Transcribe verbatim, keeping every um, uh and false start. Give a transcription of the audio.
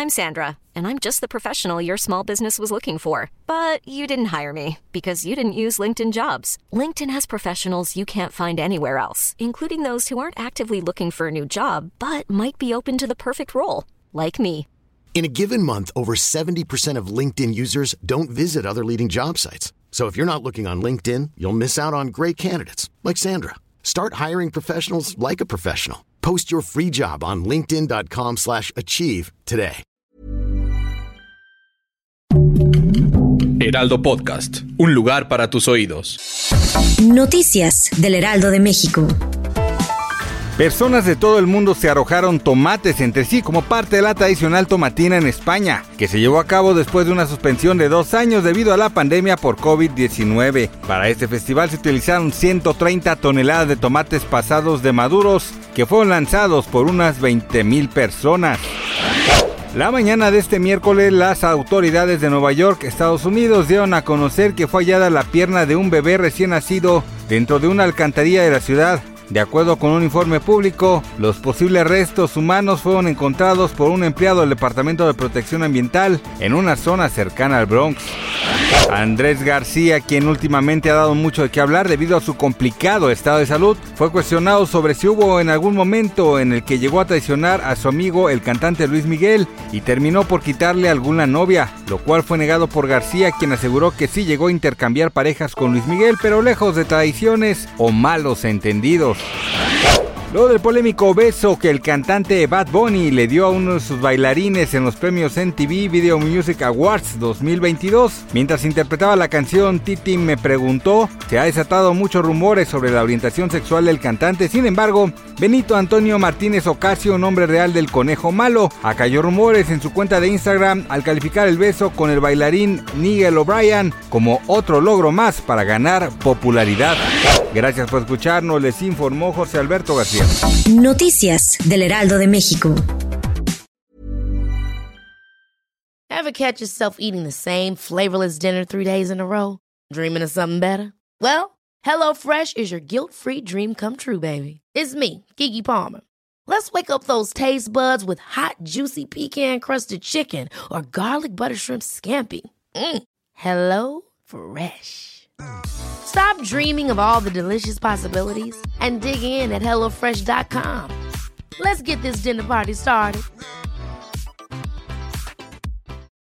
I'm Sandra, and I'm just the professional your small business was looking for. But you didn't hire me because you didn't use LinkedIn Jobs. LinkedIn has professionals you can't find anywhere else, including those who aren't actively looking for a new job, but might be open to the perfect role, like me. In a given month, over seventy percent of LinkedIn users don't visit other leading job sites. So if you're not looking on LinkedIn, you'll miss out on great candidates like Sandra. Start hiring professionals like a professional. Post your free job on linkedin.com slash achieve today. Heraldo Podcast, un lugar para tus oídos. Noticias del Heraldo de México. Personas de todo el mundo se arrojaron tomates entre sí como parte de la tradicional tomatina en España, que se llevó a cabo después de una suspensión de dos años debido a la pandemia por covid diecinueve. Para este festival se utilizaron ciento treinta toneladas de tomates pasados de maduros, que fueron lanzados por unas veinte mil personas. La mañana de este miércoles, las autoridades de Nueva York, Estados Unidos, dieron a conocer que fue hallada la pierna de un bebé recién nacido dentro de una alcantarilla de la ciudad. De acuerdo con un informe público, los posibles restos humanos fueron encontrados por un empleado del Departamento de Protección Ambiental en una zona cercana al Bronx. Andrés García, quien últimamente ha dado mucho de qué hablar debido a su complicado estado de salud, fue cuestionado sobre si hubo en algún momento en el que llegó a traicionar a su amigo el cantante Luis Miguel y terminó por quitarle alguna novia, lo cual fue negado por García, quien aseguró que sí llegó a intercambiar parejas con Luis Miguel, pero lejos de traiciones o malos entendidos. Luego del polémico beso que el cantante Bad Bunny le dio a uno de sus bailarines en los premios M T V Video Music Awards dos mil veintidós, mientras interpretaba la canción Titi me preguntó, se ha desatado muchos rumores sobre la orientación sexual del cantante. Sin embargo, Benito Antonio Martínez Ocasio, nombre real del Conejo Malo, acalló rumores en su cuenta de Instagram al calificar el beso con el bailarín Nigel O'Brien como otro logro más para ganar popularidad. Gracias por escucharnos, les informó José Alberto García. Noticias del Heraldo de México. Ever catch yourself eating the same flavorless dinner three days in a row? Dreaming of something better? Well, HelloFresh is your guilt-free dream come true, baby. It's me, Keke Palmer. Let's wake up those taste buds with hot, juicy pecan-crusted chicken or garlic butter shrimp scampi. Mm. Hello Fresh. Stop dreaming of all the delicious possibilities and dig in at hello fresh dot com. Let's get this dinner party started.